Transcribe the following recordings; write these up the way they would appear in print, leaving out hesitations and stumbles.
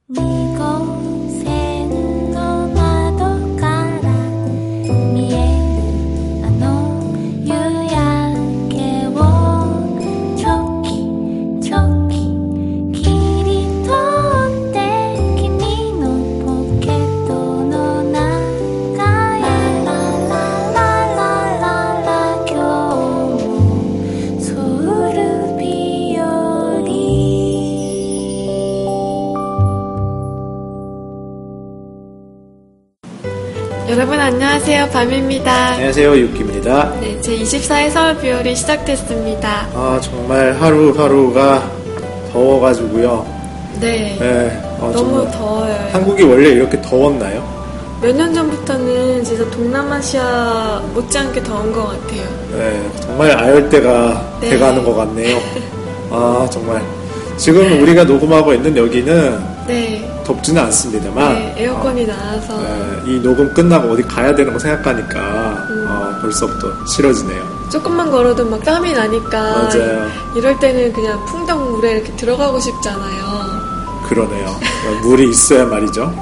여러분 안녕하세요. 밤입니다. 안녕하세요. 유키입니다. 네, 제24회 서울 비올이 시작됐습니다. 정말 하루하루가 더워가지고요. 네. 너무 정말 더워요. 한국이 원래 이렇게 더웠나요? 몇 년 전부터는 진짜 동남아시아 못지않게 더운 것 같아요. 네, 정말 아열대가 네. 돼가는 것 같네요. 정말. 지금 우리가 녹음하고 있는 여기는 네. 덥지는 않습니다만 네, 에어컨이 나와서 이 녹음 끝나고 어디 가야 되는 거 생각하니까 벌써부터 싫어지네요. 조금만 걸어도 막 땀이 나니까 맞아요. 이럴 때는 그냥 풍덩 물에 이렇게 들어가고 싶잖아요. 그러네요. 물이 있어야 말이죠.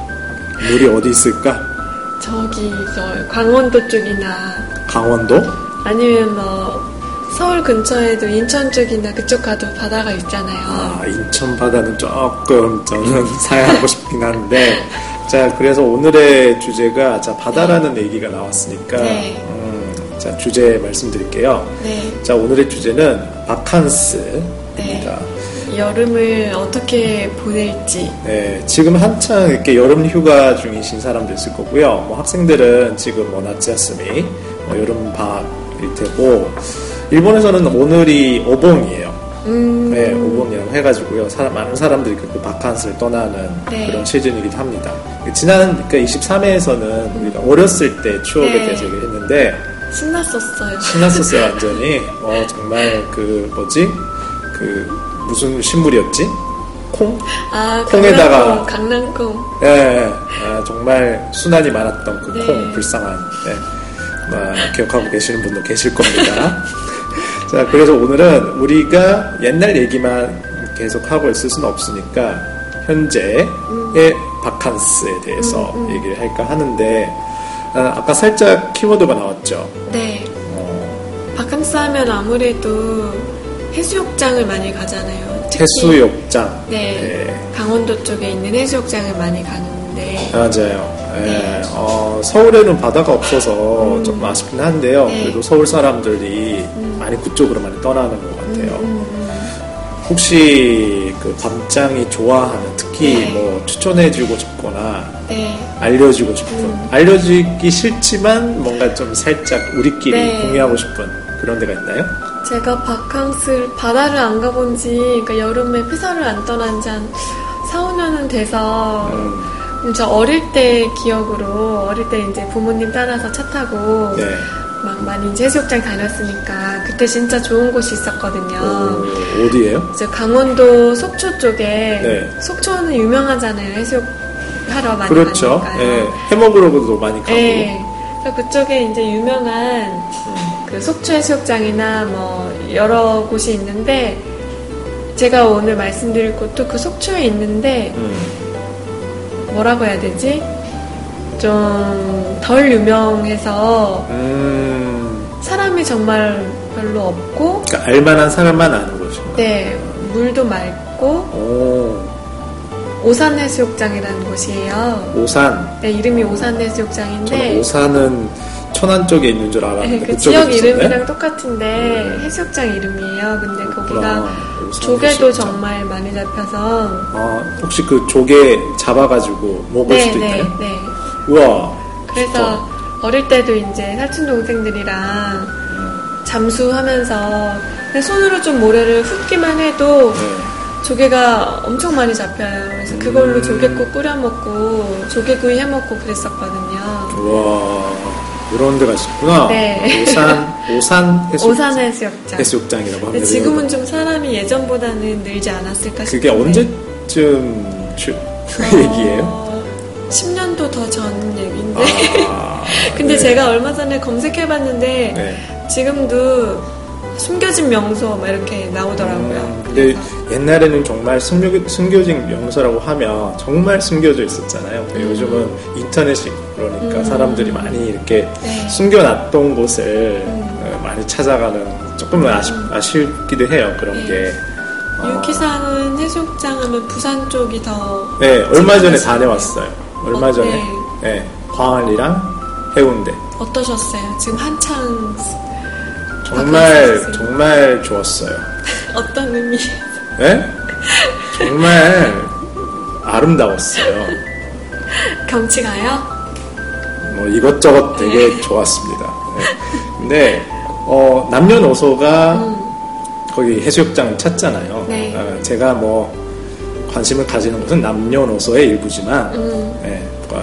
물이 어디 있을까? 저기 저 강원도 쪽이나 강원도? 아니면 뭐 서울 근처에도 인천 쪽이나 그쪽 가도 바다가 있잖아요. 인천 바다는 조금 저는 사양하고 싶긴 한데 자, 그래서 오늘의 주제가 바다라는 얘기가 나왔으니까 네. 자, 주제 말씀드릴게요. 네. 자, 오늘의 주제는 바캉스입니다. 네. 여름을 어떻게 보낼지. 네, 지금 한창 이렇게 여름 휴가 중이신 사람도 있을 거고요. 뭐 학생들은 지금 나츠야스미, 여름 방학일 테고, 일본에서는 오늘이 오봉이에요. 네, 오봉이라고 해가지고요. 많은 사람들이 그 바캉스를 떠나는 네. 그런 시즌이기도 합니다. 지난 23회에서는 우리가 어렸을 때 추억에 네. 대해서 얘기를 했는데, 신났었어요. 신났었어요, 완전히. 정말 무슨 식물이었지? 콩? 콩에다가 강낭콩. 네, 정말 순환이 많았던 그 네. 콩, 불쌍한. 네. 기억하고 계시는 분도 계실 겁니다. 자, 그래서 오늘은 우리가 옛날 얘기만 계속 하고 있을 수는 없으니까 현재의 바캉스에 대해서 얘기를 할까 하는데 아까 살짝 키워드가 나왔죠. 네. 바캉스 하면 아무래도 해수욕장을 많이 가잖아요. 특히, 해수욕장. 네. 네. 강원도 쪽에 있는 해수욕장을 많이 가는데. 맞아요. 네. 서울에는 바다가 없어서 좀 아쉽긴 한데요. 네. 그래도 서울 사람들이 많이 그쪽으로 많이 떠나는 것 같아요. 혹시 그 밤장이 좋아하는 특히 네. 뭐 추천해주고 싶거나 네. 알려주고 싶은 알려주기 싫지만 뭔가 좀 살짝 우리끼리 네. 공유하고 싶은 그런 데가 있나요? 제가 바캉스를 바다를 안 가본 지 그러니까 여름에 회사를 안 떠난 지 한 4, 5년은 돼서 저 어릴 때 기억으로 어릴 때 이제 부모님 따라서 차 타고 네. 막 많이 이제 해수욕장 다녔으니까 그때 진짜 좋은 곳이 있었거든요. 어디예요? 이제 강원도 속초 쪽에 네. 속초는 유명하잖아요. 해수욕 하러 많이 그렇죠. 가니까요. 네. 해먹으러도 많이 가고. 네. 그래서 그쪽에 이제 유명한 그 속초 해수욕장이나 뭐 여러 곳이 있는데 제가 오늘 말씀드릴 곳도 그 속초에 있는데 뭐라고 해야 되지? 좀 덜 유명해서 사람이 정말 별로 없고 그러니까 알만한 사람만 아는 곳이요. 네, 물도 맑고 오산 해수욕장이라는 곳이에요. 오산. 네, 이름이 오산 해수욕장인데 저는 오산은 천안 쪽에 있는 줄 알았는데 네, 그 지역 이름이랑 똑같은데 해수욕장 이름이에요. 근데 거기가 조개도 해수욕장. 정말 많이 잡혀서 혹시 그 조개 잡아가지고 먹을 수도 있나요? 네. 우와. 그래서 진짜. 어릴 때도 이제 사촌 동생들이랑 잠수하면서 그냥 손으로 좀 모래를 훑기만 해도 조개가 엄청 많이 잡혀요. 그래서 그걸로 조개국 끓여 먹고 조개구이 해 먹고 그랬었거든요. 우와. 이런 데가 있었구나. 네. 오산 해수욕장. 해수욕장이라고 합니다. 지금은 좀 사람이 예전보다는 늘지 않았을까 싶은데. 그게 언제쯤 얘기예요? 10년도 더 전 얘기인데. 근데 네. 제가 얼마 전에 검색해봤는데 지금도 숨겨진 명소 막 이렇게 나오더라고요. 근데 옛날에는 정말 숨겨진 명소라고 하면 정말 숨겨져 있었잖아요. 요즘은 인터넷이 그러니까 사람들이 많이 이렇게 네. 숨겨놨던 곳을 많이 찾아가는 조금 아쉽기도 해요. 그런 네. 게. 유키상은 해수욕장 하면 부산 쪽이 더. 네, 얼마 전에 다녀왔어요. 얼마 전에. 네. 네, 광안리랑 해운대. 어떠셨어요? 지금 한창. 정말 좋았어요. 어떤 의미? 네? 정말 아름다웠어요. 경치가요? 뭐 이것저것 되게 좋았습니다. 네. 근데 남녀노소가 거기 해수욕장을 찾잖아요. 네. 제가 뭐 관심을 가지는 것은 남녀노소의 일부지만 네,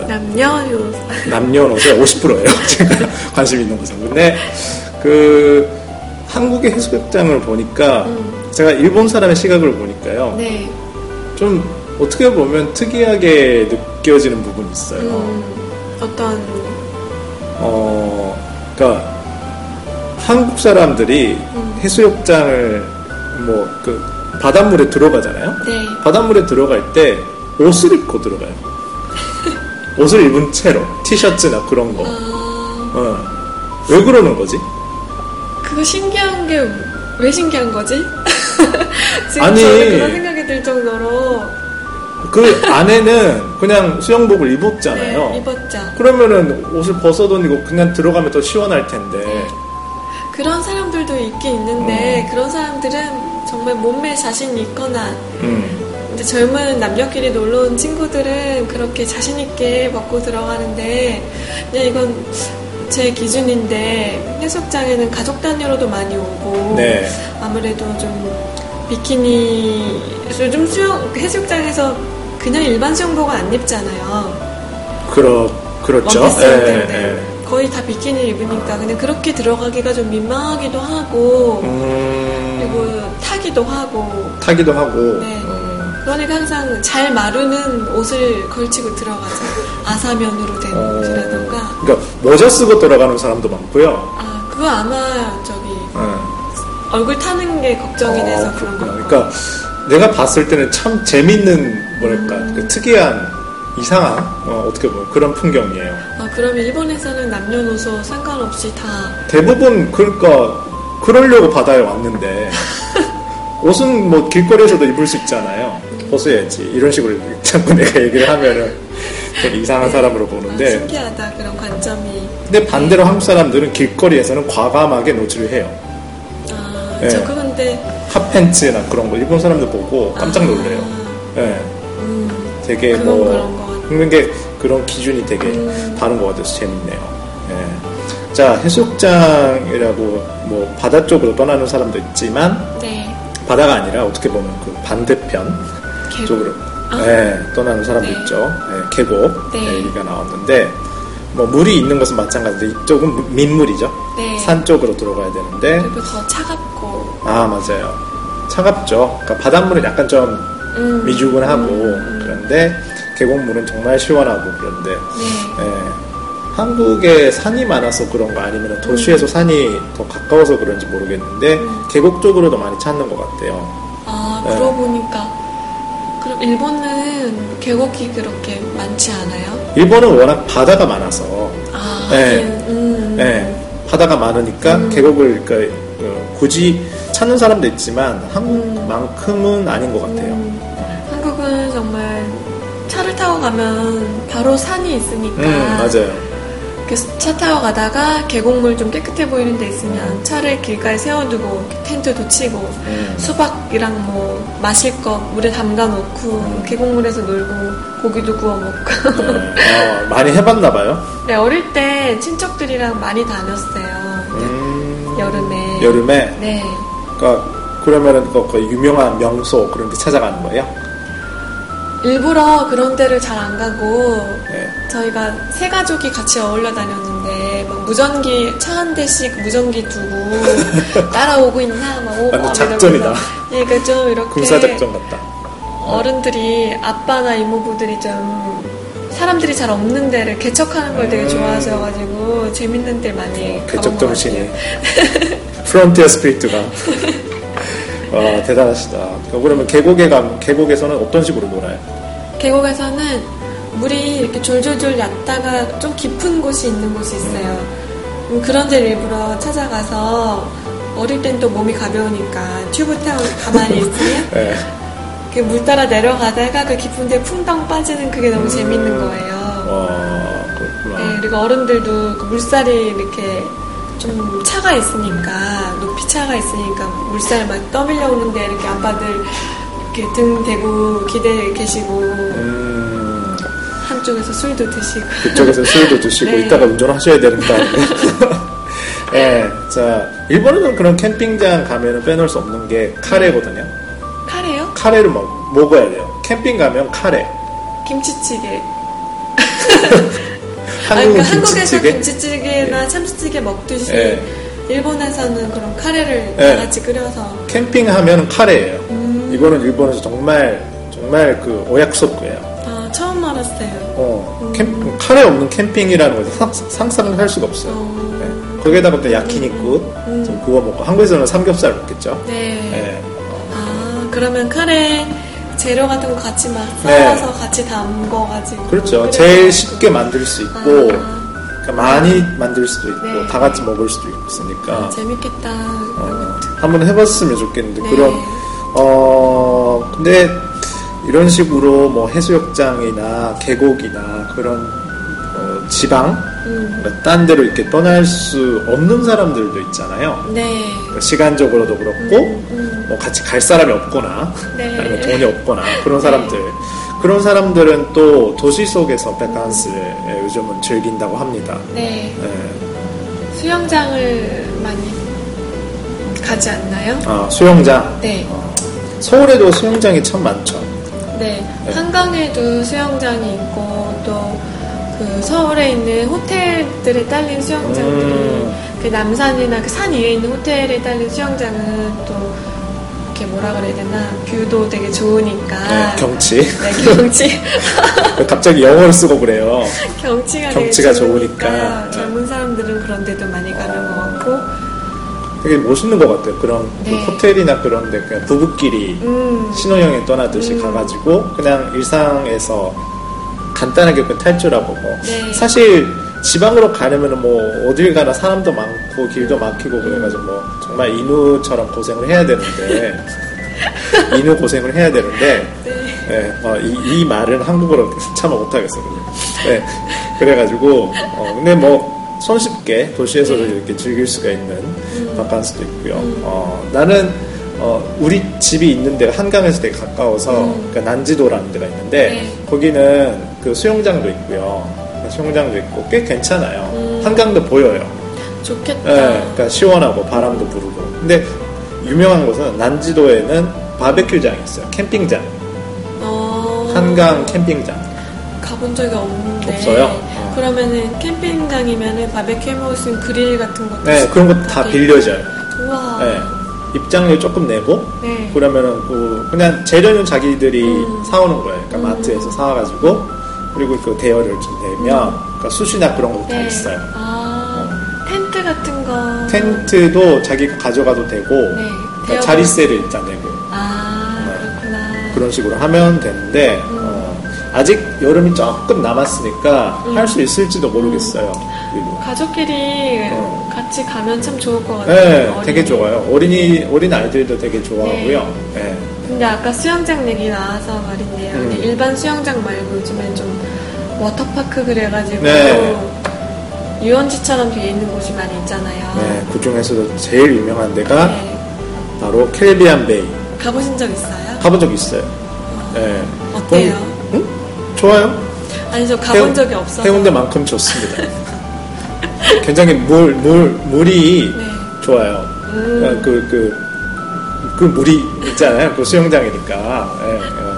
남녀노소의 50%예요. 제가 관심 있는 것은. 근데 그 한국의 해수욕장을 보니까 제가 일본 사람의 시각을 보니까요. 네. 좀 어떻게 보면 특이하게 느껴지는 부분이 있어요. 어떤? 그러니까 한국 사람들이 해수욕장을 뭐 그 바닷물에 들어가잖아요. 네. 바닷물에 들어갈 때 옷을 입고 들어가요. 옷을 입은 채로 티셔츠나 그런 거. 왜 그러는 거지? 그거 신기한 게 왜 신기한 거지? 지금 아니, 저는 그런 생각이 들 정도로. 그 안에는 그냥 수영복을 입었잖아요. 네, 입었죠. 그러면은 옷을 벗어던지고 그냥 들어가면 더 시원할 텐데. 네. 그런 사람들도 있긴 있는데 그런 사람들은 정말 몸매에 자신이 있거나 근데 젊은 남녀끼리 놀러 온 친구들은 그렇게 자신 있게 벗고 들어가는데 그냥 이건 제 기준인데 해수욕장에는 가족 단위로도 많이 오고 네. 아무래도 좀 비키니 요즘 해수욕장에서 그냥 일반 수영복을 안 입잖아요. 그렇죠. 원피스 네. 거의 다 비키니 입으니까 그냥 그렇게 들어가기가 좀 민망하기도 하고 그리고 타기도 하고 네. 그러니까 항상 잘 마르는 옷을 걸치고 들어가죠. 아사면으로 된 옷이라던가. 그러니까 모자 쓰고 들어가는 사람도 많고요. 아 그거 아마 저기 얼굴 타는 게 걱정이 돼서 그런 거. 그러니까 내가 봤을 때는 참 재밌는 뭐랄까 그 특이한 이상한 어떻게 보면 그런 풍경이에요. 아 그러면 일본에서는 남녀노소 상관없이 다 대부분 그러니까 그러려고 바다에 왔는데 옷은 뭐 길거리에서도 입을 수 있잖아요. 벗어야지 이런 식으로 자꾸 내가 얘기를 하면은 되게 이상한 사람으로 보는데 신기하다 그런 관점이. 근데 반대로 한국 사람들은 길거리에서는 과감하게 노출을 해요. 아 네. 저 근데 핫팬츠나 그런 거 일본 사람들 보고 깜짝 놀래요. 네. 되게 그런 게 그런 기준이 되게 다른 것 같아서 재밌네요. 네. 자 해수욕장이라고 뭐 바다 쪽으로 떠나는 사람도 있지만 네. 바다가 아니라 어떻게 보면 그 반대편 쪽으로 네, 떠나는 사람도 네. 있죠. 네, 계곡 네. 얘기가 나왔는데 뭐 물이 있는 것은 마찬가지인데 이쪽은 민물이죠. 네. 산 쪽으로 들어가야 되는데 그리고 더 차갑고. 아 맞아요. 차갑죠. 그러니까 바닷물은 약간 좀 미주근하고 그런데 계곡물은 정말 시원하고 그런데 네. 한국에 산이 많아서 그런 거 아니면 도시에서 산이 더 가까워서 그런지 모르겠는데 계곡 쪽으로도 많이 찾는 것 같아요. 아 그러고 보니까 그럼 일본은 계곡이 그렇게 많지 않아요? 일본은 워낙 바다가 많아서 바다가 많으니까 계곡을 그러니까, 굳이 찾는 사람도 있지만 한국만큼은 아닌 것 같아요. 한국은 정말 차를 타고 가면 바로 산이 있으니까 맞아요. 차 타고 가다가 계곡물 좀 깨끗해 보이는 데 있으면 차를 길가에 세워두고 텐트도 치고 수박이랑 뭐 마실 거 물에 담가 놓고 계곡물에서 놀고 고기도 구워 먹고 많이 해봤나 봐요? 네, 어릴 때 친척들이랑 많이 다녔어요. 여름에? 네. 그러니까 그러면은 그 유명한 명소 그런 데 찾아가는 거예요? 일부러 그런 데를 잘 안 가고 네. 저희가 세 가족이 같이 어울려 다녔는데 막 무전기 차 한 대씩 무전기 두고 따라오고 있나 막 오고 작전이다. 예, 그러니까 좀 이렇게 군사작전 같다. 어른들이 아빠나 이모부들이 좀 사람들이 잘 없는 데를 개척하는 걸 되게 좋아하셔가지고 재밌는 데 많이 개척 정신이 프론티어 스피리트가. 와, 대단하시다. 그러면 계곡에서는 어떤 식으로 놀아요? 계곡에서는 물이 이렇게 졸졸졸 얕다가 좀 깊은 곳이 있는 곳이 있어요. 그런 데를 일부러 찾아가서 어릴 땐 또 몸이 가벼우니까 튜브 타고 가만히 있으면 네. 물 따라 내려가다가 그 깊은 데 풍덩 빠지는 그게 너무 재밌는 거예요. 그렇구나. 네, 그리고 어른들도 그 물살이 이렇게 좀 차가 있으니까, 높이 차가 있으니까 물살 막 떠밀려 오는데 이렇게 아빠들 이렇게 등 대고 기대 계시고 한쪽에서 술도 드시고 그쪽에서 술도 드시고 네. 이따가 운전하셔야 되니까. 네, 자 일본에는 그런 캠핑장 가면은 빼놓을 수 없는 게 카레거든요. 카레요? 카레를 먹어야 돼요. 캠핑 가면 카레. 김치찌개. 한국은 한국에서 김치찌개? 김치찌개나 네. 참치찌개 먹듯이 네. 일본에서는 그런 카레를 네. 다 같이 끓여서 캠핑하면 카레예요. 이거는 일본에서 정말 그 오약속이에요. 아, 처음 알았어요. 카레 없는 캠핑이라는 걸 상상을 할 수가 없어요. 네. 거기에다가 또 야키니쿠 좀 구워 먹고 한국에서는 삼겹살 먹겠죠. 네. 네. 아, 그러면 카레 재료 같은 거 같이 막 네. 썰어서 같이 담궈가지고. 그렇죠. 제일 쉽게 만들 수 있고 그러니까 많이 만들 수도 있고 네. 다 같이 먹을 수도 있으니까 재밌겠다. 한번 해봤으면 좋겠는데 네. 근데 이런 식으로 뭐 해수욕장이나 계곡이나 그런 지방 딴 데로 이렇게 떠날 수 없는 사람들도 있잖아요. 네. 시간적으로도 그렇고 뭐 같이 갈 사람이 없거나 네. 아니면 돈이 없거나 그런 사람들 그런 사람들은 또 도시 속에서 바캉스를 요즘은 즐긴다고 합니다. 네. 네. 수영장을 많이 가지 않나요? 아, 수영장. 네. 서울에도 수영장이 참 많죠. 네. 네. 한강에도 수영장이 있고 또 그 서울에 있는 호텔들에 딸린 수영장들이 그 남산이나 그 산 위에 있는 호텔에 딸린 수영장은 또 이렇게 뭐라 그래야 되나 뷰도 되게 좋으니까 네, 경치. 네, 경치. 갑자기 영어를 쓰고 그래요. 경치가 경치가 되게 좋으니까. 젊은 사람들은 그런 데도 많이 가는 것 같고 되게 멋있는 것 같아요. 그런 네. 그 호텔이나 그런 데 그냥 부부끼리 신혼여행 떠나듯이 가가지고 그냥 일상에서 간단하게 그 탈출하고 뭐 네. 사실 지방으로 가려면 뭐 어딜 가나 사람도 많고 길도 막히고 그래가지고 뭐 정말 인우처럼 고생을 해야 되는데 인우 고생을 해야 되는데 네, 이 말은 한국어로 참아 못하겠어요. 네, 그래가지고 근데 뭐 손쉽게 도시에서도 이렇게 즐길 수가 있는 바캉스도 있고요. 나는 우리 집이 있는 데가 한강에서 되게 가까워서 그러니까 난지도라는 데가 있는데 네. 거기는 그 수영장도 있고요. 수영장도 있고 꽤 괜찮아요. 한강도 보여요. 좋겠다. 네, 그러니까 시원하고 바람도 부르고. 근데 유명한 곳은 난지도에는 바베큐장이 있어요. 캠핑장. 한강 캠핑장. 가본 적이 없는데. 없어요? 그러면은 캠핑장이면은 바베큐 해 먹을 수 있는 그릴 같은 것도. 네, 그런 거 다 빌려줘요. 우와. 네. 입장료 조금 내고 네. 그러면은 그냥 재료는 자기들이 사오는 거예요. 그러니까 마트에서 사와가지고 그리고 그 대여를 좀 내면 그러니까 숯이나 그런 것도 다 네. 있어요. 텐트 같은 거. 텐트도 자기가 가져가도 되고 네. 그러니까 자리세를 일단 내고 그렇구나. 그런 식으로 하면 되는데 아직 여름이 조금 남았으니까 할 수 있을지도 모르겠어요. 그리고. 가족끼리 같이 가면 참 좋을 것 같아요. 네, 되게 좋아요. 어린 아이들도 되게 좋아하고요. 네. 근데 아까 수영장 얘기 나와서 말인데요. 근데 일반 수영장 말고 요즘엔 좀 워터파크 그래가지고 네. 유원지처럼 돼 있는 곳이 많이 있잖아요. 네, 그 중에서도 제일 유명한 데가 네. 바로 캐리비안 베이. 가보신 적 있어요? 가본 적 있어요. 네. 어때요? 응? 좋아요. 아니 저 가본 적이 없어서. 해운대만큼 좋습니다. 굉장히 물이 네. 좋아요. 그 물이 있잖아요. 그 수영장이니까. 예,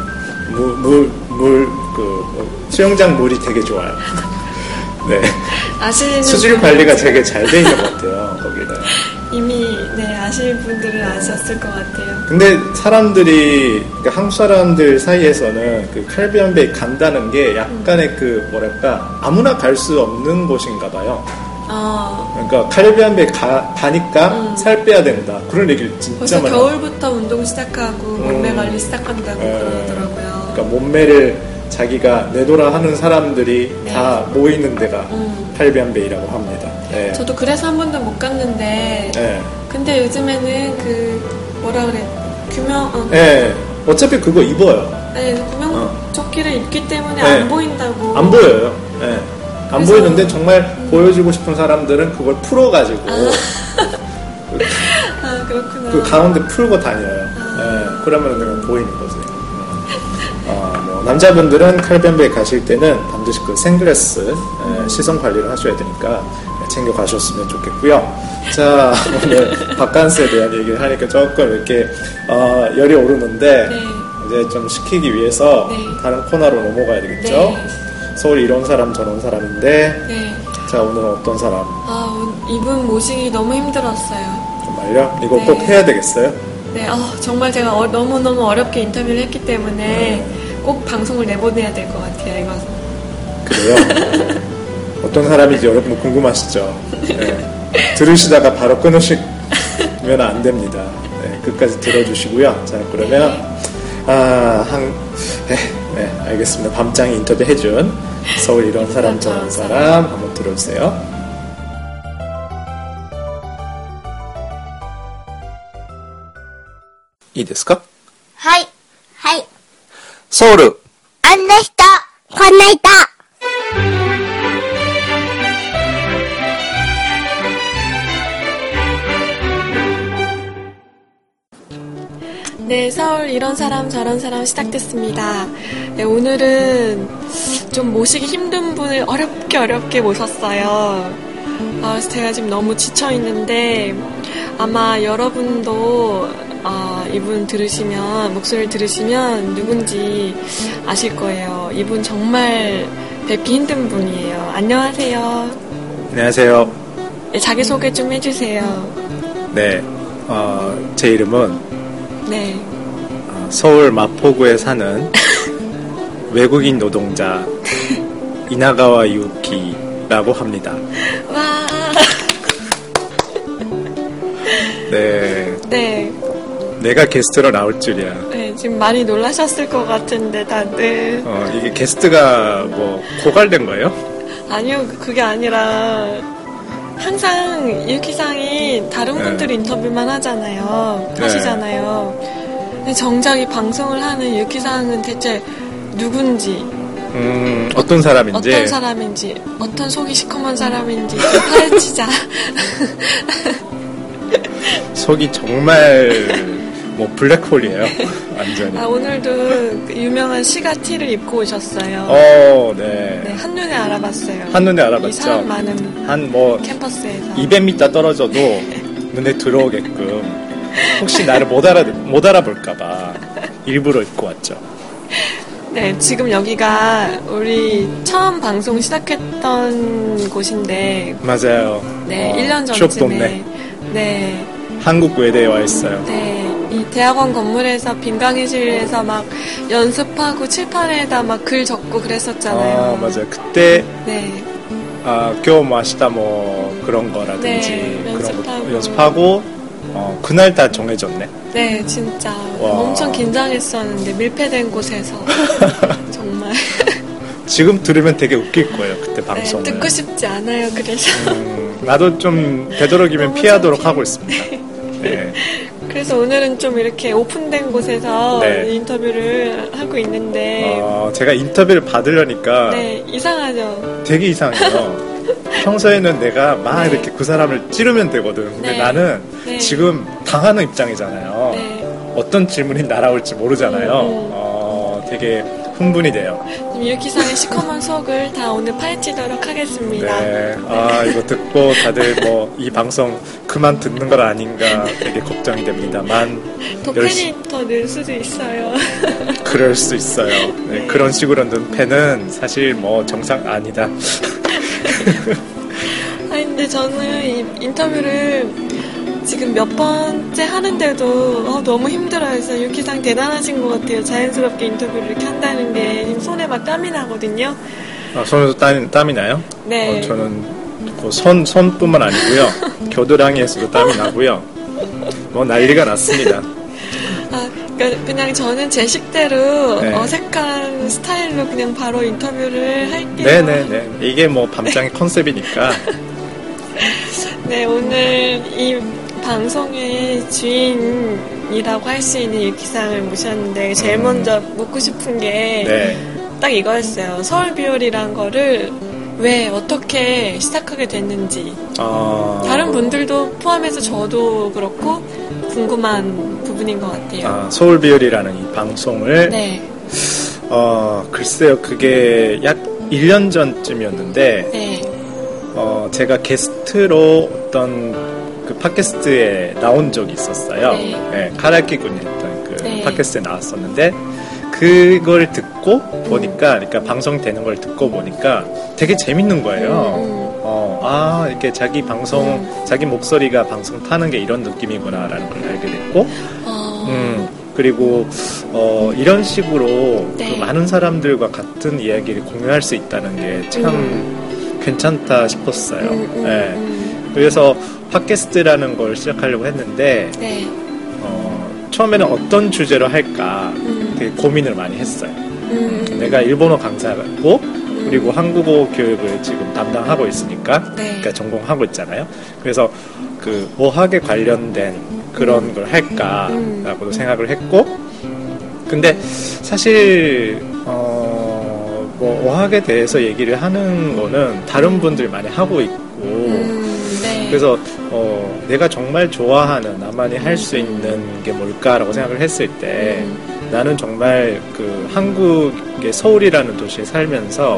예. 수영장 물이 되게 좋아요. 네. 아시는 수질 관리가 되게 잘 돼 있는 것 같아요. 거기는. 이미 아시는 분들은 아셨을 것 같아요. 근데 그러니까 한국 사람들 사이에서는 그 캐리비안 베이 간다는 게 약간의 그 뭐랄까 아무나 갈 수 없는 곳인가 봐요. 그러니까 칼비안베 가니까 살 빼야 된다. 그런 얘기를 진짜 벌써 많이 겨울부터 운동 시작하고 몸매 관리 시작한다고 그러더라고요. 그러니까 몸매를 자기가 내돌아 하는 사람들이 네. 다 모이는 데가 칼비안베이라고 합니다. 네. 저도 그래서 한 번도 못 갔는데 네. 근데 요즘에는 그 뭐라 그래 네. 어차피 그거 입어요. 네, 구명조끼를 입기 때문에 네. 안 보인다고. 안 보여요. 네. 안 그래서, 보이는데 정말 보여주고 싶은 사람들은 그걸 풀어가지고 그렇구나. 그 가운데 풀고 다녀요. 네. 그러면 내가 보이는 거지. 뭐 남자분들은 칼변베에 가실 때는 반드시 그 생글라스 시선 관리를 하셔야 되니까 챙겨 가셨으면 좋겠고요. 자, 오늘 바캉스에 대한 얘기를 하니까 조금 이렇게 열이 오르는데 네. 이제 좀 식히기 위해서 네. 다른 코너로 넘어가야 되겠죠. 네. 서울 이런 사람 저런 사람인데 네. 자, 오늘은 어떤 사람? 이분 모시기 너무 힘들었어요. 정말요? 이거 네. 꼭 해야 되겠어요? 네, 정말 제가 너무너무 어렵게 인터뷰를 했기 때문에 꼭 방송을 내보내야 될 것 같아요, 이거. 그래요? 어떤 사람인지 여러분 궁금하시죠? 네. 들으시다가 바로 끊으시면 안 됩니다. 네, 끝까지 들어주시고요. 자, 그러면, 네, 알겠습니다. 밤장이 인터뷰 해준 서울 이런 사람 저런 사람 한번 들어주세요. いいですか? はい。はい。 ソウル。 あんな人、こんな人。 네, 서울 이런 사람 저런 사람 시작됐습니다. 네, 오늘은 좀 모시기 힘든 분을 어렵게 모셨어요. 그래서 제가 지금 너무 지쳐있는데 아마 여러분도 이분 들으시면 목소리를 들으시면 누군지 아실 거예요. 이분 정말 뵙기 힘든 분이에요. 안녕하세요. 안녕하세요. 네, 자기소개 좀 해주세요. 네, 제 이름은 네. 서울 마포구에 사는 외국인 노동자 이나가와 유키라고 합니다. 와. 네. 네. 내가 게스트로 나올 줄이야. 네, 지금 많이 놀라셨을 것 같은데 다들. 이게 게스트가 뭐 고갈된 거예요? 아니요, 그게 아니라 항상 유키상이 다른 분들 인터뷰만 하시잖아요. 근데 정작 이 방송을 하는 유키상은 대체 누군지, 어떤 사람인지, 어떤 속이 시커먼 사람인지 좀 파헤치자. 속이 정말 뭐 블랙홀이에요. 완전히. 오늘도 그 유명한 시가티를 입고 오셨어요. 네. 네, 한눈에 알아봤어요. 한눈에 알아봤죠. 이 사람 많은 한 뭐 캠퍼스에서 200m 떨어져도 눈에 들어오게끔 혹시 나를 못 알아볼까봐 일부러 입고 왔죠. 네, 지금 여기가 우리 처음 방송 시작했던 곳인데 맞아요. 네, 1년 추억 전쯤에 돋네. 네, 한국 외대에 와 있어요. 네, 이 대학원 건물에서 빈강의실에서 막 연습하고 칠판에다 막 글 적고 그랬었잖아요. 맞아요. 그때 네, 교무 아시다 뭐 그런 거라든지 네, 그런 거 연습하고 그날 다 정해졌네. 네, 진짜 와. 엄청 긴장했었는데 밀폐된 곳에서 정말 지금 들으면 되게 웃길 거예요. 그때 방송을. 네, 듣고 싶지 않아요. 그래서 나도 좀 되도록이면 피하도록 하고 있습니다. 네. 그래서 오늘은 좀 이렇게 오픈된 곳에서 네. 인터뷰를 하고 있는데 제가 인터뷰를 받으려니까 네, 이상하죠. 되게 이상해요. 평소에는 내가 막 이렇게 그 사람을 찌르면 되거든. 근데 네. 나는 네. 지금 당하는 입장이잖아요. 네. 어떤 질문이 날아올지 모르잖아요. 되게 흥분이 돼요. 유키상의 시커먼 속을 다 오늘 파헤치도록 하겠습니다. 네. 이거 듣고 다들 뭐 이 방송 그만 듣는 건 아닌가 되게 걱정이 됩니다만. 더 팬이 더 늘 수도 있어요. 그럴 수 있어요. 네, 네. 그런 식으로 는 팬은 사실 뭐 정상 아니다. 근데 저는 이 인터뷰를 지금 몇 번째 하는데도 너무 힘들어요. 그래서 유키상 대단하신 것 같아요. 자연스럽게 인터뷰를 이렇게 한다는 게 지금 손에 막 땀이 나거든요. 손에도 땀이 나요? 네. 저는 뭐 손뿐만 아니고요. 겨드랑이에서도 땀이 나고요. 뭐 난리가 났습니다. 그러니까 그냥 저는 제 식대로 네. 어색한 스타일로 그냥 바로 인터뷰를 할게요. 네네네. 이게 뭐 밤장의 컨셉이니까. 네, 오늘 이 방송의 주인이라고 할 수 있는 유키상을 모셨는데 제일 먼저 묻고 싶은 게 딱 네. 이거였어요. 서울비올이란 거를 왜 어떻게 시작하게 됐는지 다른 분들도 포함해서 저도 그렇고 궁금한 부분인 것 같아요. 서울비올이라는 이 방송을 네. 글쎄요. 그게 약 1년 전쯤이었는데 네. 제가 게스트로 어떤 그 팟캐스트에 나온 적이 있었어요. 네. 네, 카라키 군이 했던 그 네. 팟캐스트에 나왔었는데 그걸 듣고 보니까, 그러니까 방송되는 걸 듣고 보니까 되게 재밌는 거예요. 이렇게 자기 방송, 자기 목소리가 방송 타는 게 이런 느낌이구나라는 걸 알게 됐고, 그리고 이런 식으로 네. 그 많은 사람들과 같은 이야기를 공유할 수 있다는 게 참 괜찮다 싶었어요. 네. 그래서 팟캐스트라는 걸 시작하려고 했는데 네. 처음에는 어떤 주제로 할까 되게 고민을 많이 했어요. 내가 일본어 강사고 그리고 한국어 교육을 지금 담당하고 있으니까, 네. 그러니까 전공하고 있잖아요. 그래서 그 어학에 관련된 그런 걸 할까라고도 생각을 했고, 근데 사실 뭐 어학에 대해서 얘기를 하는 거는 다른 분들 많이 하고 있고, 네. 그래서 내가 정말 좋아하는 나만이 할 수 있는 게 뭘까라고 생각을 했을 때 나는 정말 그 한국의 서울이라는 도시에 살면서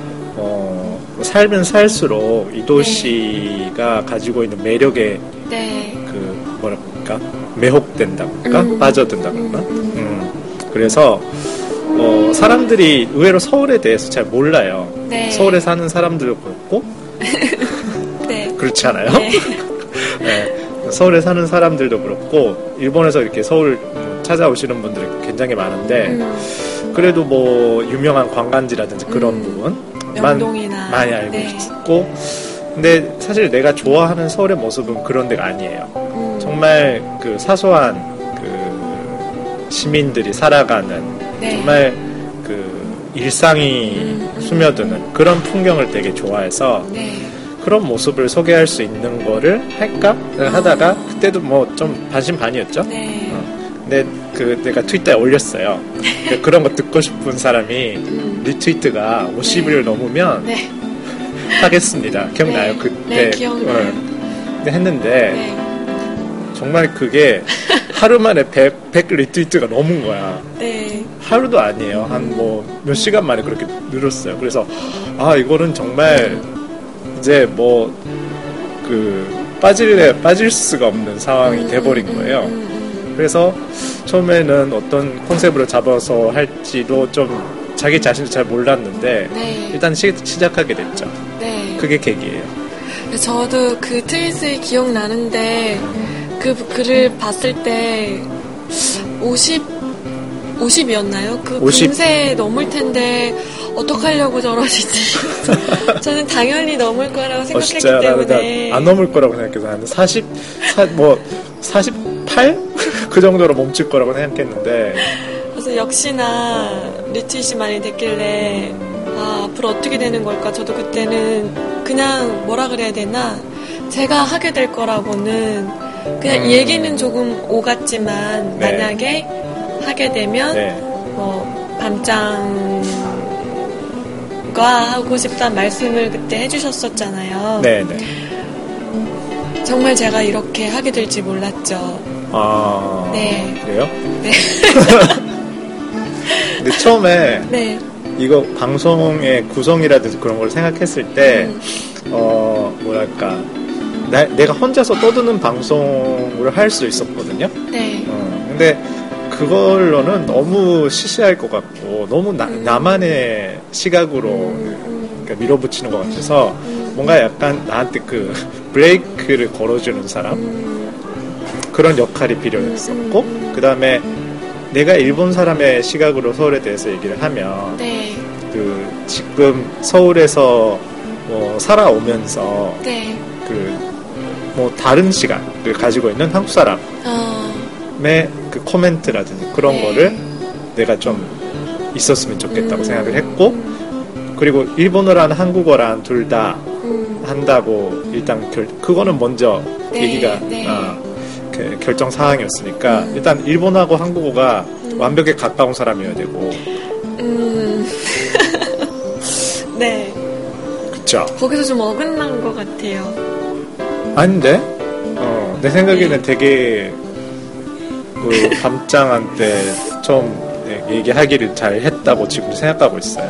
살면 살수록 이 도시가 가지고 있는 매력에 네. 그 뭐랄까 매혹된다고 할까 빠져든다고 할까 그래서 사람들이 의외로 서울에 대해서 잘 몰라요. 네. 서울에 사는 사람들도 그렇고 네. 그렇지 않아요? 네. 네. 서울에 사는 사람들도 그렇고 일본에서 이렇게 서울 찾아오시는 분들이 굉장히 많은데 그래도 뭐 유명한 관광지라든지 그런 부분 명동이나 많이 알고 네. 있고, 근데 사실 내가 좋아하는 서울의 모습은 그런 데가 아니에요. 정말 그 사소한 그 시민들이 살아가는 네. 정말 그 일상이 스며드는 그런 풍경을 되게 좋아해서 네. 그런 모습을 소개할 수 있는 거를 할까 하다가 그때도 뭐 좀 반신반의였죠. 네. 근데 그 내가 트위터에 올렸어요. 그런 거 듣고 싶은 사람이 리트위트가 50을 넘으면 네. 하겠습니다. 기억나요? 네. 그때 네, 기억나요. 근데 했는데 네. 정말 그게 하루 만에 100 리트위트가 넘은 거야. 네. 하루도 아니에요. 한 뭐 몇 시간 만에 그렇게 늘었어요. 그래서 이거는 정말 이제 뭐 그 빠질 수가 없는 상황이 돼버린 거예요. 그래서 처음에는 어떤 컨셉으로 잡아서 할지도 좀 자기 자신도 잘 몰랐는데 네. 일단 시작하게 됐죠. 네. 그게 계기예요. 저도 그 트윗이 기억나는데 그 글을 봤을 때 50이었나요? 그 50. 금세 넘을 텐데 어떡하려고 저러시지? 저는 당연히 넘을 거라고 생각했기 진짜 때문에 안 넘을 거라고 생각해서 한 48? 그 정도로 멈출 거라고 생각했는데 그래서 역시나 리트윗이 많이 됐길래 앞으로 어떻게 되는 걸까? 저도 그때는 그냥 뭐라 그래야 되나? 제가 하게 될 거라고는 그냥 이 얘기는 조금 오갔지만 네. 만약에 하게 되면 네. 뭐 밤장과 하고 싶다는 말씀을 그때 해주셨었잖아요. 네네. 정말 제가 이렇게 하게 될지 몰랐죠. 네. 그래요? 네. 근데 처음에 네. 이거 방송의 구성이라든지 그런 걸 생각했을 때 뭐랄까 내가 혼자서 떠드는 방송을 할 수 있었거든요. 네. 근데 그걸로는 너무 시시할 것 같고 너무 나만의 시각으로 그러니까 밀어붙이는 것 같아서 뭔가 약간 나한테 그 브레이크를 걸어주는 사람 그런 역할이 필요했었고 그 다음에 내가 일본 사람의 시각으로 서울에 대해서 얘기를 하면 네. 그 지금 서울에서 살아오면서 네. 다른 시각을 가지고 있는 한국 사람의 그 코멘트라든지 그런 네. 거를 내가 좀 있었으면 좋겠다고 생각을 했고, 그리고 일본어랑 한국어랑 둘 다 한다고 일단 그거는 먼저 네. 얘기가 네. 결정 사항이었으니까 일단 일본어하고 한국어가 완벽에 가까운 사람이어야 되고. 네. 그쵸? 거기서 좀 어긋난 것 같아요. 아닌데? 내 생각에는 되게 밤장한테 처음 얘기하기를 잘 했다고 지금 생각하고 있어요.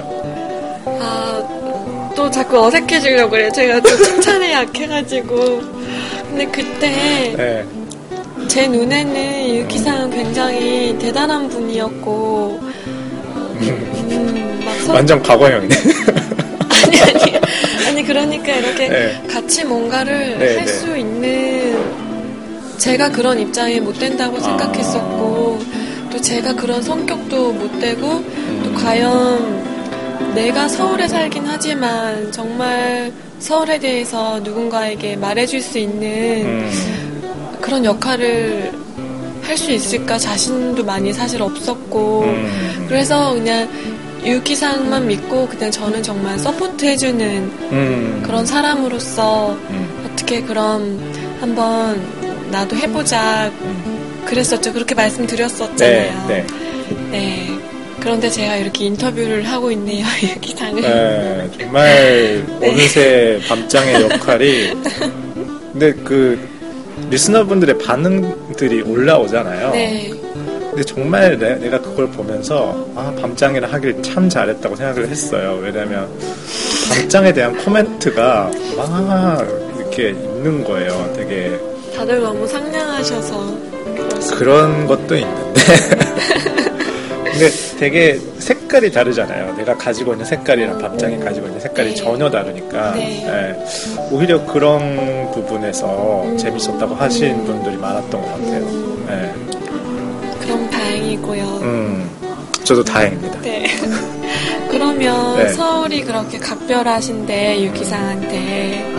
또 자꾸 어색해지려고 그래요. 제가 또 칭찬에 약해가지고. 근데 그때 네. 제 눈에는 유키상 굉장히 대단한 분이었고, 완전 과거형이네. 아니 그러니까 이렇게 네. 같이 뭔가를 네, 할 수 있는, 제가 그런 입장에 못 된다고 생각했었고, 또 제가 그런 성격도 못 되고, 또 과연 내가 서울에 살긴 하지만 정말 서울에 대해서 누군가에게 말해줄 수 있는 그런 역할을 할 수 있을까 자신도 많이 사실 없었고, 그래서 그냥 유키상만 믿고 그냥 저는 정말 서포트 해주는 그런 사람으로서 어떻게 그럼 한번 나도 해보자 그랬었죠. 그렇게 말씀드렸었잖아요. 네. 네. 그런데 제가 이렇게 인터뷰를 하고 있네요, 유키상을. 네, 정말 어느새 밤장의 역할이. 근데 리스너분들의 반응들이 올라오잖아요. 네. 근데 정말 내가 그걸 보면서 밤장이라 하길 참 잘했다고 생각을 했어요. 왜냐면 밤장에 대한 코멘트가 막 이렇게 있는 거예요. 되게 다들 너무 상냥하셔서 그런 것도 있는데 근데 되게 색깔이 다르잖아요. 내가 가지고 있는 색깔이랑 밤장이 가지고 있는 색깔이 네. 전혀 다르니까 네. 네. 오히려 그런 부분에서 재밌었다고 하신 분들이 많았던 것 같아요. 네. 그럼 다행이고요. 저도 다행입니다. 네. 그러면 네. 서울이 그렇게 각별하신데 유키상한테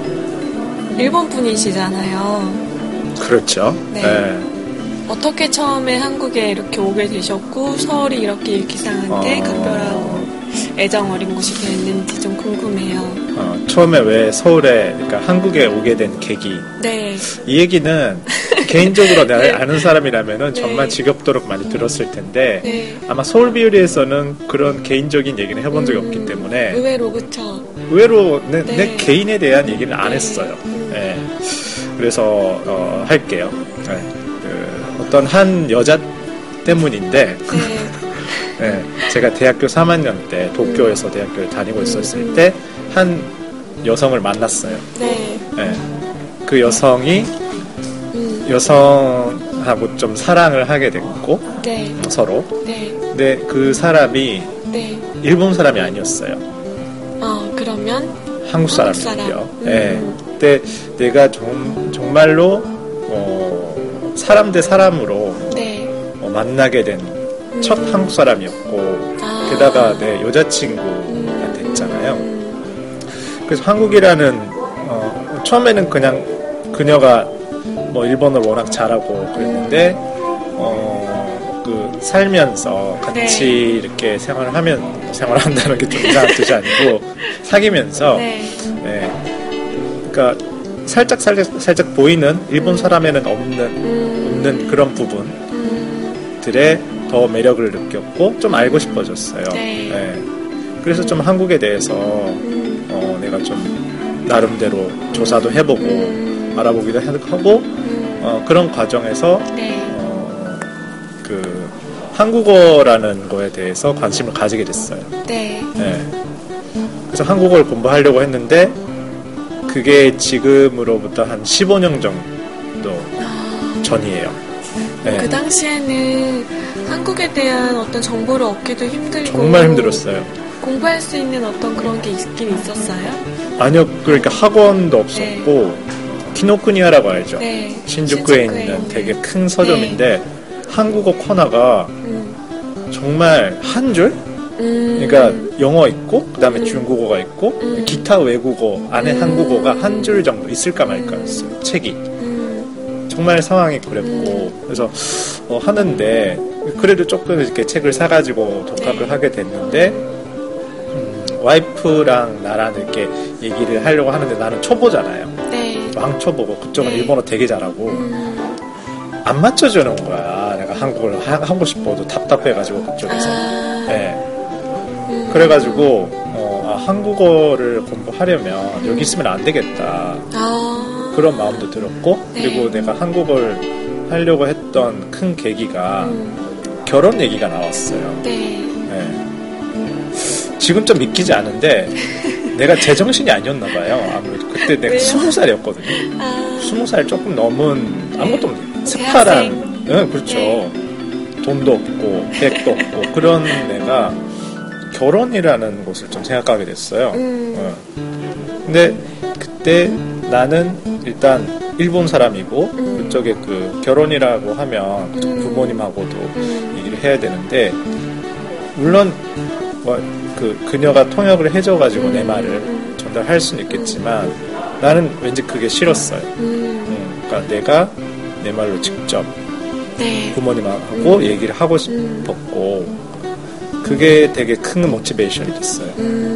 일본 분이시잖아요. 그렇죠. 네. 네. 어떻게 처음에 한국에 이렇게 오게 되셨고 서울이 이렇게 유키상한테 각별하고 애정 어린 곳이 됐는지 좀 궁금해요. 처음에 왜 서울에, 그러니까 한국에 오게 된 계기. 네. 이 얘기는 개인적으로 내가 네. 아는 사람이라면은 네. 정말 지겹도록 많이 들었을 텐데 네. 아마 서울비율리에서는 그런 개인적인 얘기는 해본 적이 없기 때문에 의외로 그쵸. 의외로 내 네. 개인에 대한 얘기는 안 네. 했어요. 네. 그래서 할게요. 네. 어떤 한 여자 때문인데 네. 네. 제가 대학교 3학년 때 도쿄에서 대학교를 다니고 있었을 때 한 여성을 만났어요. 네. 네. 그 여성이 여성하고 좀 사랑을 하게 됐고 네. 서로. 네. 근데 그 사람이 네. 일본 사람이 아니었어요. 그러면 한국 사람이었고요. 네. 근데 내가 정말로 사람 대 사람으로 네. 만나게 된 첫 한국 사람이었고 게다가 내 여자친구가 됐잖아요. 그래서 한국이라는 처음에는 그냥 그녀가 일본어를 워낙 잘하고 그랬는데 살면서 같이 네. 이렇게 생활한다는 게 좀 이상한 뜻이 아니고 사귀면서 네. 네. 그러니까 살짝 보이는 일본 사람에는 없는 그런 부분들에 더 매력을 느꼈고 좀 알고 싶어졌어요. 네. 네. 그래서 좀 한국에 대해서 내가 좀 나름대로 조사도 해보고 알아보기도 하고 그런 과정에서 네. 한국어라는 거에 대해서 관심을 가지게 됐어요. 네. 네. 그래서 한국어를 공부하려고 했는데 그게 지금으로부터 한 15년 정도 전이에요. 네. 그 당시에는 한국에 대한 어떤 정보를 얻기도 힘들고 정말 힘들었어요. 공부할 수 있는 어떤 그런 게 있긴 있었어요? 아니요, 그러니까 학원도 없었고 키노쿠니아라고 알죠? 네. 신주쿠에 있는 되게 큰 서점인데 한국어 코너가 정말 한 줄? 그러니까 영어 있고 그다음에 중국어가 있고 기타 외국어 안에 한국어가 한 줄 정도 있을까 말까였어요. 책이. 정말 상황이 그랬고 그래서 하는데 그래도 조금 이렇게 책을 사가지고 독학을 하게 됐는데 와이프랑 나랑 이렇게 얘기를 하려고 하는데 나는 초보잖아요. 네. 왕초보고 그쪽은 일본어 되게 잘하고 안 맞춰주는 거야. 내가 한국어를 하고 싶어도 답답해가지고 그쪽에서. 네. 그래가지고 한국어를 공부하려면 여기 있으면 안 되겠다. 그런 마음도 들었고 그리고 내가 한국어를 하려고 했던 큰 계기가 결혼 얘기가 나왔어요. 네. 지금 좀 믿기지 않은데 내가 제정신이 아니었나 봐요. 아무래도 그때 내가 20살이었거든요. 20살 조금 넘은 아무것도 없는 스파란 그렇죠. 네. 돈도 없고 백도 없고 그런 내가 결혼이라는 것을 좀 생각하게 됐어요. 근데 그때 나는 일단 일본 사람이고 그쪽에 그 결혼이라고 하면 부모님하고도 얘기를 해야 되는데 물론 그녀가 통역을 해줘가지고 내 말을 전달할 수는 있겠지만 나는 왠지 그게 싫었어요. 그러니까 내가 내 말로 직접 부모님하고 얘기를 하고 싶었고 그게 되게 큰 모티베이션이 됐어요.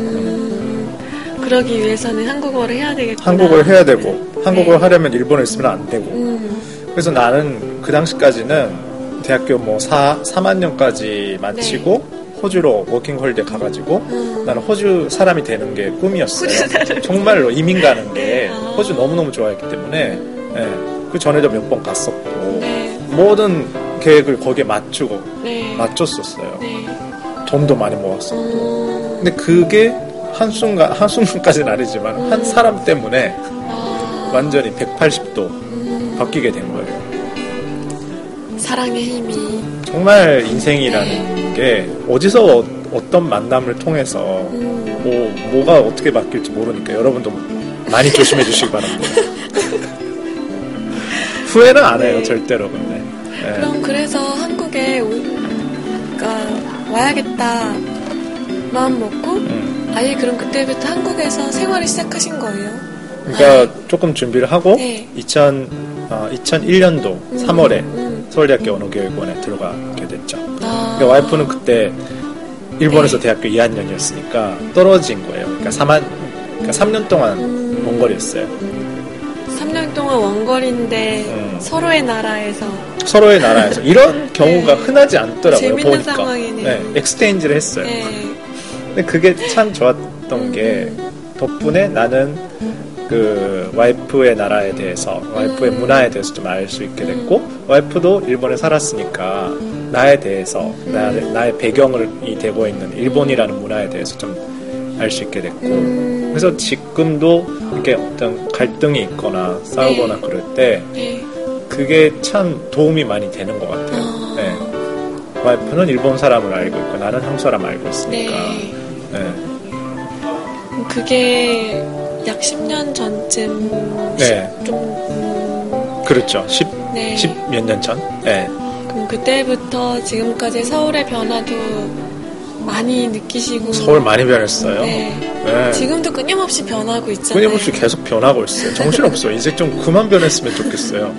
그러기 위해서는 한국어를 해야 되겠구나. 한국어를 해야 되고 한국어를 하려면 일본에 있으면 안 되고 그래서 나는 그 당시까지는 대학교 3학년까지 마치고 호주로 워킹홀리데이 가가지고 나는 호주 사람이 되는 게 꿈이었어요. 정말로 이민 가는 게 호주 너무너무 좋아했기 때문에 그 전에도 몇 번 갔었고 모든 계획을 거기에 맞췄었어요. 돈도 많이 모았었고 근데 그게 한순간까지는 아니지만 한 사람 때문에 완전히 180도 바뀌게 된 거예요. 사랑의 힘이 정말 인생이라는 게 어디서 어떤 만남을 통해서 뭐가 어떻게 바뀔지 모르니까 여러분도 많이 조심해 주시기 바랍니다. 후회는 안 해요. 절대로. 근데 그럼 그래서 한국에 와야겠다 마음 먹고 아예 그럼 그때부터 한국에서 생활을 시작하신 거예요? 그러니까 조금 준비를 하고 2001년도 3월에 서울대학교 언어교육원에 들어가게 됐죠. 그러니까 와이프는 그때 일본에서 대학교 2학년이었으니까 떨어진 거예요. 그러니까 3년 동안 원거리였어요. 3년 동안 원거리인데 서로의 나라에서 이런 경우가 흔하지 않더라고요. 재밌는 보니까. 상황이네요. 엑스체인지를 했어요. 근데 그게 참 좋았던 게 덕분에 나는 그 와이프의 나라에 대해서 와이프의 문화에 대해서 좀 알 수 있게 됐고 와이프도 일본에 살았으니까 나에 대해서 나의 배경이 되고 있는 일본이라는 문화에 대해서 좀 알 수 있게 됐고 그래서 지금도 이렇게 어떤 갈등이 있거나 싸우거나 그럴 때 그게 참 도움이 많이 되는 것 같아요. 와이프는 일본 사람을 알고 있고 나는 한국 사람 알고 있으니까 그게 약 10년 전쯤 좀 그렇죠. 10 몇 년 전. 그럼 그때부터 지금까지 서울의 변화도 많이 느끼시고 서울 많이 변했어요. 지금도 끊임없이 변하고 있잖아요. 끊임없이 계속 변하고 있어요. 정신없어요. 이제 좀 그만 변했으면 좋겠어요.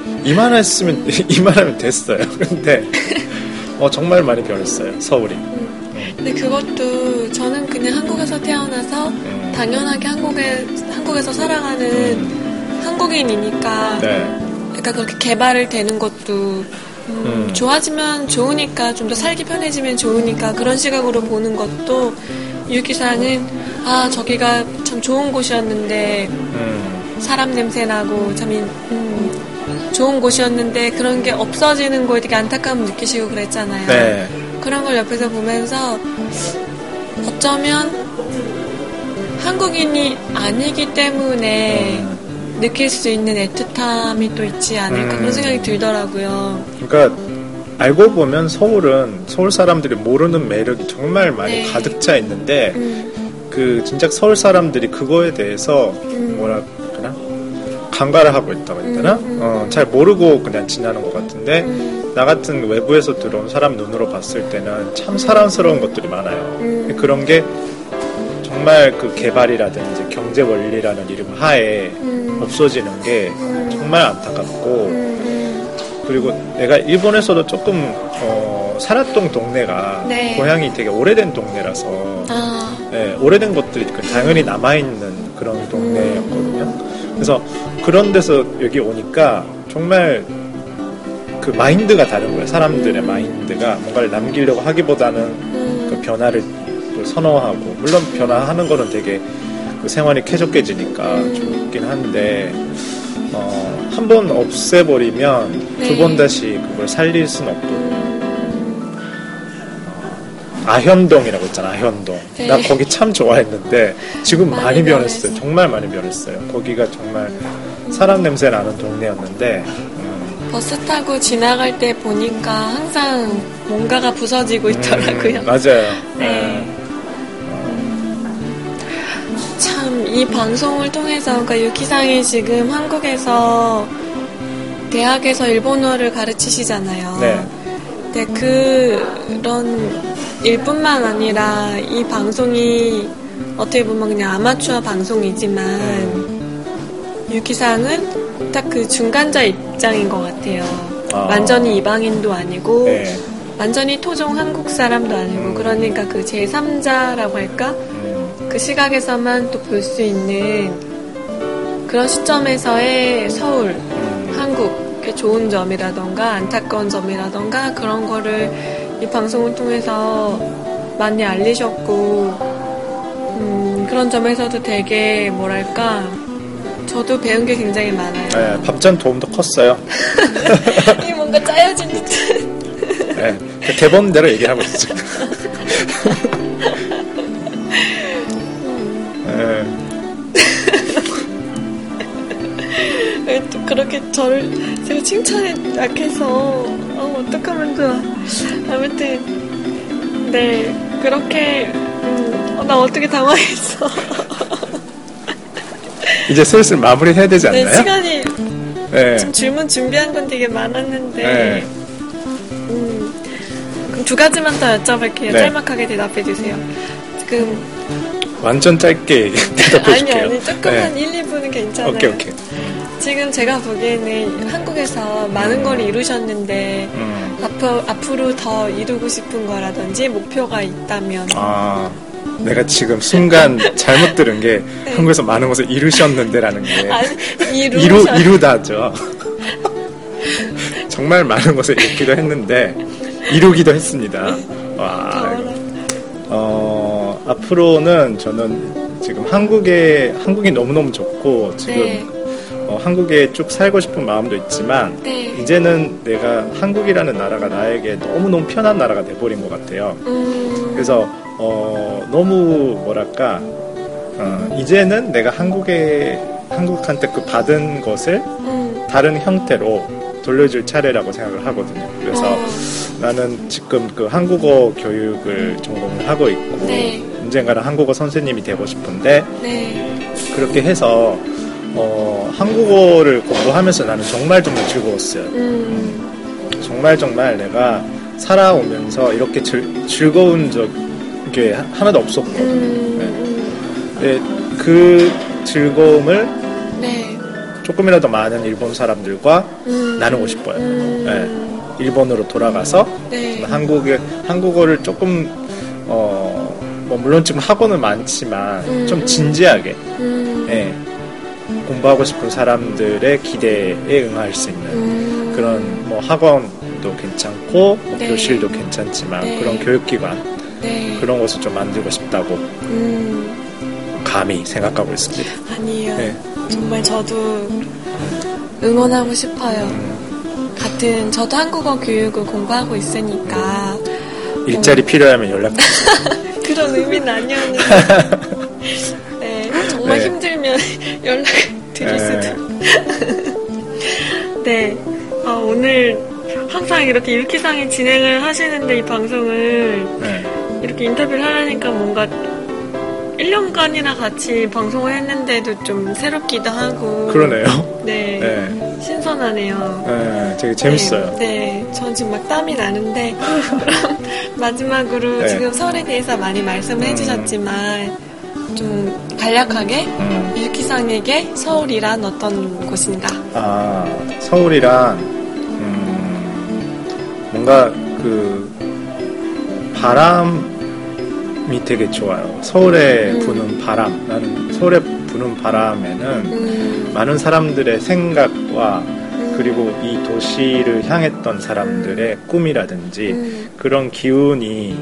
이만하면 됐어요. 근데 정말 많이 변했어요. 서울이. 근데 그것도 저는 그냥 한국에서 태어나서 당연하게 한국에서 살아가는 한국인이니까 그러니까 그렇게 개발을 되는 것도 좋아지면 좋으니까 좀 더 살기 편해지면 좋으니까 그런 시각으로 보는 것도 유기사는 저기가 참 좋은 곳이었는데 사람 냄새 나고 참 좋은 곳이었는데 그런 게 없어지는 거에 되게 안타까움을 느끼시고 그랬잖아요. 그런 걸 옆에서 보면서 어쩌면 한국인이 아니기 때문에 느낄 수 있는 애틋함이 또 있지 않을까 그런 생각이 들더라고요. 그러니까 알고 보면 서울 사람들이 모르는 매력이 정말 많이 가득 차 있는데 그 진짜 서울 사람들이 그거에 대해서 뭐라 그러나 간과를 하고 있다고 했나? 잘 모르고 그냥 지나는 것 같은데 나 같은 외부에서 들어온 사람 눈으로 봤을 때는 참 사랑스러운 것들이 많아요. 그런 게 정말 그 개발이라든지 경제 원리라는 이름 하에 없어지는 게 정말 안타깝고, 그리고 내가 일본에서도 조금 살았던 동네가 네. 고향이 되게 오래된 동네라서 네, 오래된 것들이 당연히 남아있는 그런 동네였거든요. 그래서 그런 데서 여기 오니까 정말 그 마인드가 다른 거예요. 사람들의 마인드가 뭔가를 남기려고 하기보다는 그 변화를 선호하고, 물론 변화하는 거는 되게 그 생활이 쾌적해지니까 좋긴 한데 한번 없애버리면 네. 두 번 다시 그걸 살릴 수는 없거든요. 아현동이라고 있잖아, 아현동. 네. 나 거기 참 좋아했는데 지금 많이 변했어요. 변했어. 정말 많이 변했어요. 거기가 정말 사람 냄새 나는 동네였는데 버스 타고 지나갈 때 보니까 항상 뭔가가 부서지고 있더라고요. 맞아요. 네. 참 이 방송을 통해서, 그러니까 유키상이 지금 한국에서 대학에서 일본어를 가르치시잖아요. 네. 근데 그런 일뿐만 아니라 이 방송이 어떻게 보면 그냥 아마추어 방송이지만 유키상은 딱 그 중간자 입장인 것 같아요. 완전히 이방인도 아니고 네. 완전히 토종 한국 사람도 아니고 그러니까 그 제3자라고 할까? 그 시각에서만 또 볼 수 있는 그런 시점에서의 서울, 한국의 좋은 점이라던가 안타까운 점이라던가 그런 거를 이 방송을 통해서 많이 알리셨고 그런 점에서도 되게 뭐랄까 저도 배운 게 굉장히 많아요. 네, 밥잔 도움도 컸어요. 이게 뭔가 짜여진 듯. 네, 그 대본대로 얘기하고 있죠. 왜 또 그렇게 저를 제가 칭찬에 약해서 어떡하면 좋아. 아무튼 네 그렇게 나 어떻게 당황했어. 이제 슬슬 마무리 해야 되지 않나요? 네, 시간이 네. 지금 질문 준비한 건 되게 많았는데 네. 그럼 두 가지만 더 여쭤볼게요. 네. 짤막하게 대답해 주세요. 지금 완전 짧게 대답해 줄게요. 아니 조금만 네. 1, 2분은 괜찮아요. 오케이. 지금 제가 보기에는 한국에서 많은 걸 이루셨는데 앞으로 더 이루고 싶은 거라든지 목표가 있다면 내가 지금 순간 잘못 들은 게 네. 한국에서 많은 것을 이루셨는데라는 게 아니, 이루다죠. 정말 많은 것을 이루기도 했는데 이루기도 했습니다. 와, 앞으로는 저는 지금 한국이 너무너무 좋고 지금 네. 한국에 쭉 살고 싶은 마음도 있지만 네. 이제는 내가 한국이라는 나라가 나에게 너무너무 편한 나라가 돼버린 것 같아요. 그래서 너무 뭐랄까 이제는 내가 한국한테 그 받은 것을 다른 형태로 돌려줄 차례라고 생각을 하거든요. 그래서 나는 지금 그 한국어 교육을 전공을 하고 있고 네. 언젠가는 한국어 선생님이 되고 싶은데 네. 그렇게 해서 한국어를 공부하면서 나는 정말 즐거웠어요. 정말 내가 살아오면서 이렇게 즐거운 적이 하나도 없었거든요. 네, 그 즐거움을 네. 조금이라도 많은 일본 사람들과 나누고 싶어요. 네, 일본으로 돌아가서 네. 한국어를 조금 뭐 물론 지금 학원은 많지만 좀 진지하게 네, 공부하고 싶은 사람들의 기대에 응할 수 있는 그런 뭐 학원도 괜찮고 뭐 네. 교실도 괜찮지만 네. 그런 교육기관 네. 그런 것을 좀 만들고 싶다고 감히 생각하고 있습니다. 아니에요. 네. 정말 저도 응원하고 싶어요. 저도 한국어 교육을 공부하고 있으니까 일자리 필요하면 연락주세요. 그런 의미는 아니었는데 네, 정말 네. 힘들면 연락 드릴 수도. 네, 오늘 항상 이렇게 유키상이 진행을 하시는데 이 방송을 네. 이렇게 인터뷰를 하려니까 뭔가 1년간이나 같이 방송을 했는데도 좀 새롭기도 하고. 그러네요. 네. 네. 신선하네요. 네, 되게 재밌어요. 네. 전 지금 막 땀이 나는데. 그럼 마지막으로 네. 지금 서울에 대해서 많이 말씀을 해주셨지만, 좀 간략하게 유키상에게 서울이란 어떤 곳인가? 서울이란, 뭔가 바람이 되게 좋아요. 서울에 부는 바람. 나는 서울에 부는 바람에는 많은 사람들의 생각과 그리고 이 도시를 향했던 사람들의 꿈이라든지 그런 기운이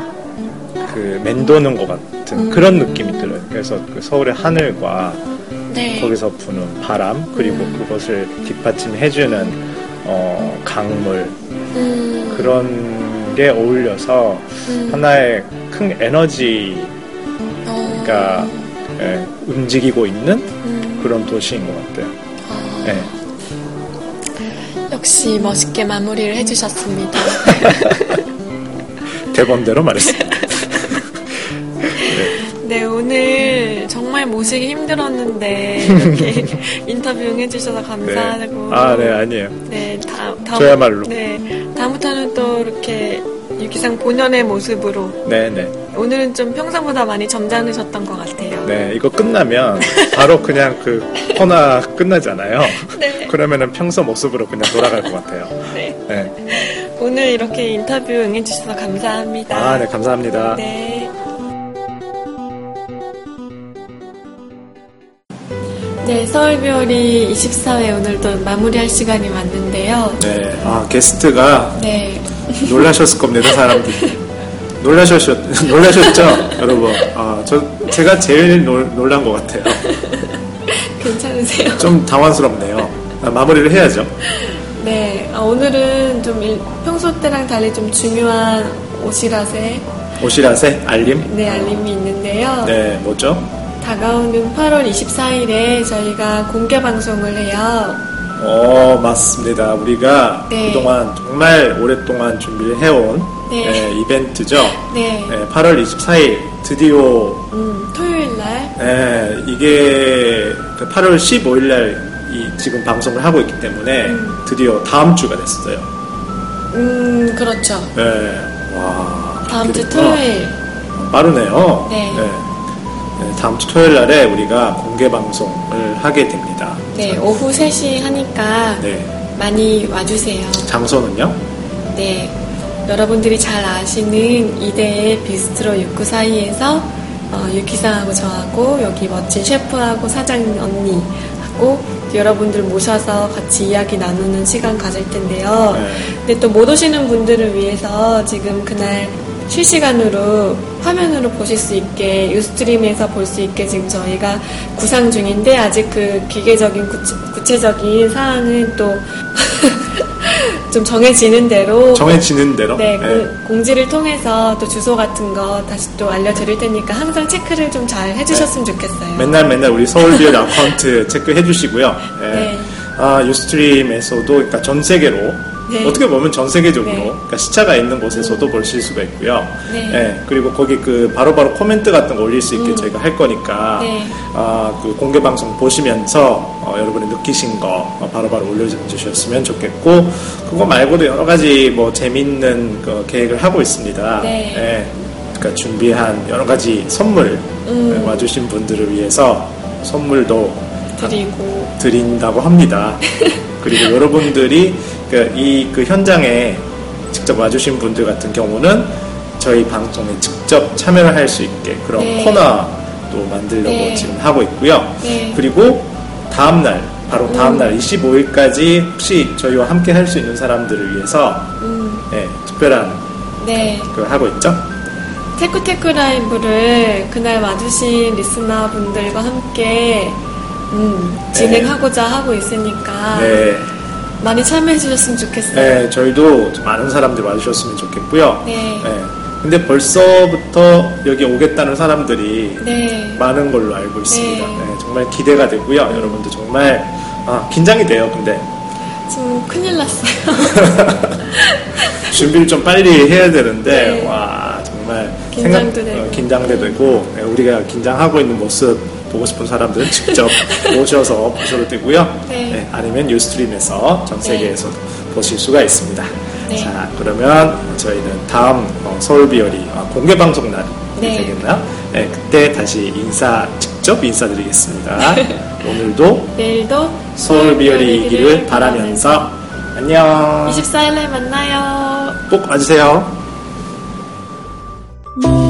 맴도는 것 같은 그런 느낌이 들어요. 그래서 그 서울의 하늘과 네. 거기서 부는 바람 그리고 그것을 뒷받침해주는 강물 그런 게 어울려서 하나의 큰 에너지가 움직이고 있는 그런 도시인 것 같아요. 네. 역시 멋있게 마무리를 해주셨습니다. 대본대로 말했습니다. 네, 오늘 정말 모시기 힘들었는데 이렇게 인터뷰 응해주셔서 감사하고. 네, 아니에요. 네, 저야말로. 네, 다음부터는 또 이렇게 유키상 본연의 모습으로. 네. 오늘은 좀 평소보다 많이 점잖으셨던 것 같아요. 네, 이거 끝나면 바로 그냥 그 코너 끝나잖아요. 네. 그러면은 평소 모습으로 그냥 돌아갈 것 같아요. 네. 네. 오늘 이렇게 인터뷰 응해주셔서 감사합니다. 네, 감사합니다. 네. 네, 서울별이 24회 오늘도 마무리할 시간이 왔는데요. 네, 게스트가 네. 놀라셨을 겁니다, 사람들이. 놀라셨죠, 여러분? 제가 제일 놀란 것 같아요. 괜찮으세요? 좀 당황스럽네요. 마무리를 해야죠. 네, 오늘은 좀 평소 때랑 달리 좀 중요한 오시라세 알림? 네, 알림이 있는데요. 네, 뭐죠? 다가오는 8월 24일에 저희가 공개 방송을 해요. 맞습니다. 우리가 네. 그동안 정말 오랫동안 준비를 해온 네. 이벤트죠. 네. 8월 24일 드디어 토요일 날. 네, 이게 8월 15일 날 지금 방송을 하고 있기 때문에 드디어 다음 주가 됐어요. 그렇죠. 네. 와. 다음 주 토요일. 빠르네요. 네. 다음 주 토요일 날에 우리가 공개 방송을 하게 됩니다. 네, 오후 3시 하니까 네. 많이 와주세요. 장소는요? 네, 여러분들이 잘 아시는 이대의 비스트로 69 사이에서 유키상하고 저하고 여기 멋진 셰프하고 사장 언니하고 여러분들 모셔서 같이 이야기 나누는 시간 가질 텐데요. 네. 근데 또 못 오시는 분들을 위해서 지금 그날 실시간으로 화면으로 보실 수 있게 유스트림에서 볼 수 있게 지금 저희가 구상 중인데 아직 그 기계적인 구체적인 사항은 또 좀 정해지는 대로 네. 공지를 통해서 또 주소 같은 거 다시 또 알려드릴 테니까 항상 체크를 좀 잘 해주셨으면 좋겠어요. 맨날 우리 서울비엘 아카운트 체크해 주시고요. 네. 유스트림에서도 그러니까 전 세계로 네. 어떻게 보면 전 세계적으로 네. 그러니까 시차가 있는 곳에서도 보실 수가 있고요. 네. 그리고 거기 바로바로 코멘트 같은 거 올릴 수 있게 저희가 할 거니까 네. 그 공개 방송 보시면서 여러분이 느끼신 거 바로바로 올려주셨으면 좋겠고 그거 말고도 여러 가지 뭐 재밌는 계획을 하고 있습니다. 네. 그러니까 준비한 여러 가지 선물 와주신 분들을 위해서 선물도 드린다고 합니다. 그리고 여러분들이 그 현장에 직접 와주신 분들 같은 경우는 저희 방송에 직접 참여를 할 수 있게 그런 네. 코너도 만들려고 지금 하고 있고요. 네. 그리고 다음날 바로 다음날 25일까지 혹시 저희와 함께 할 수 있는 사람들을 위해서 특별한 걸 하고 있죠. 테쿠테쿠 라이브를 그날 와주신 리스너분들과 함께 진행하고자 하고 있으니까 많이 참여해 주셨으면 좋겠어요. 네, 저희도 많은 사람들 와주셨으면 좋겠고요. 네. 근데 벌써부터 여기 오겠다는 사람들이 네. 많은 걸로 알고 있습니다. 네. 정말 기대가 되고요. 여러분들 정말 긴장이 돼요. 근데 지금 큰일 났어요. 준비를 좀 빨리 해야 되는데 네. 와 정말 정말 긴장도 되고 우리가 긴장하고 있는 모습 보고 싶은 사람들은 직접 오셔서 보셔도 되고요. 네. 아니면 유스트림에서 전 세계에서 보실 수가 있습니다. 네. 자, 그러면 저희는 다음 서울비어리 공개 방송 날이 되겠나요? 네, 그때 다시 직접 인사드리겠습니다. 오늘도 내일도 서울비어리이기를 바라면서 안녕. 24일에 만나요. 꼭 와주세요.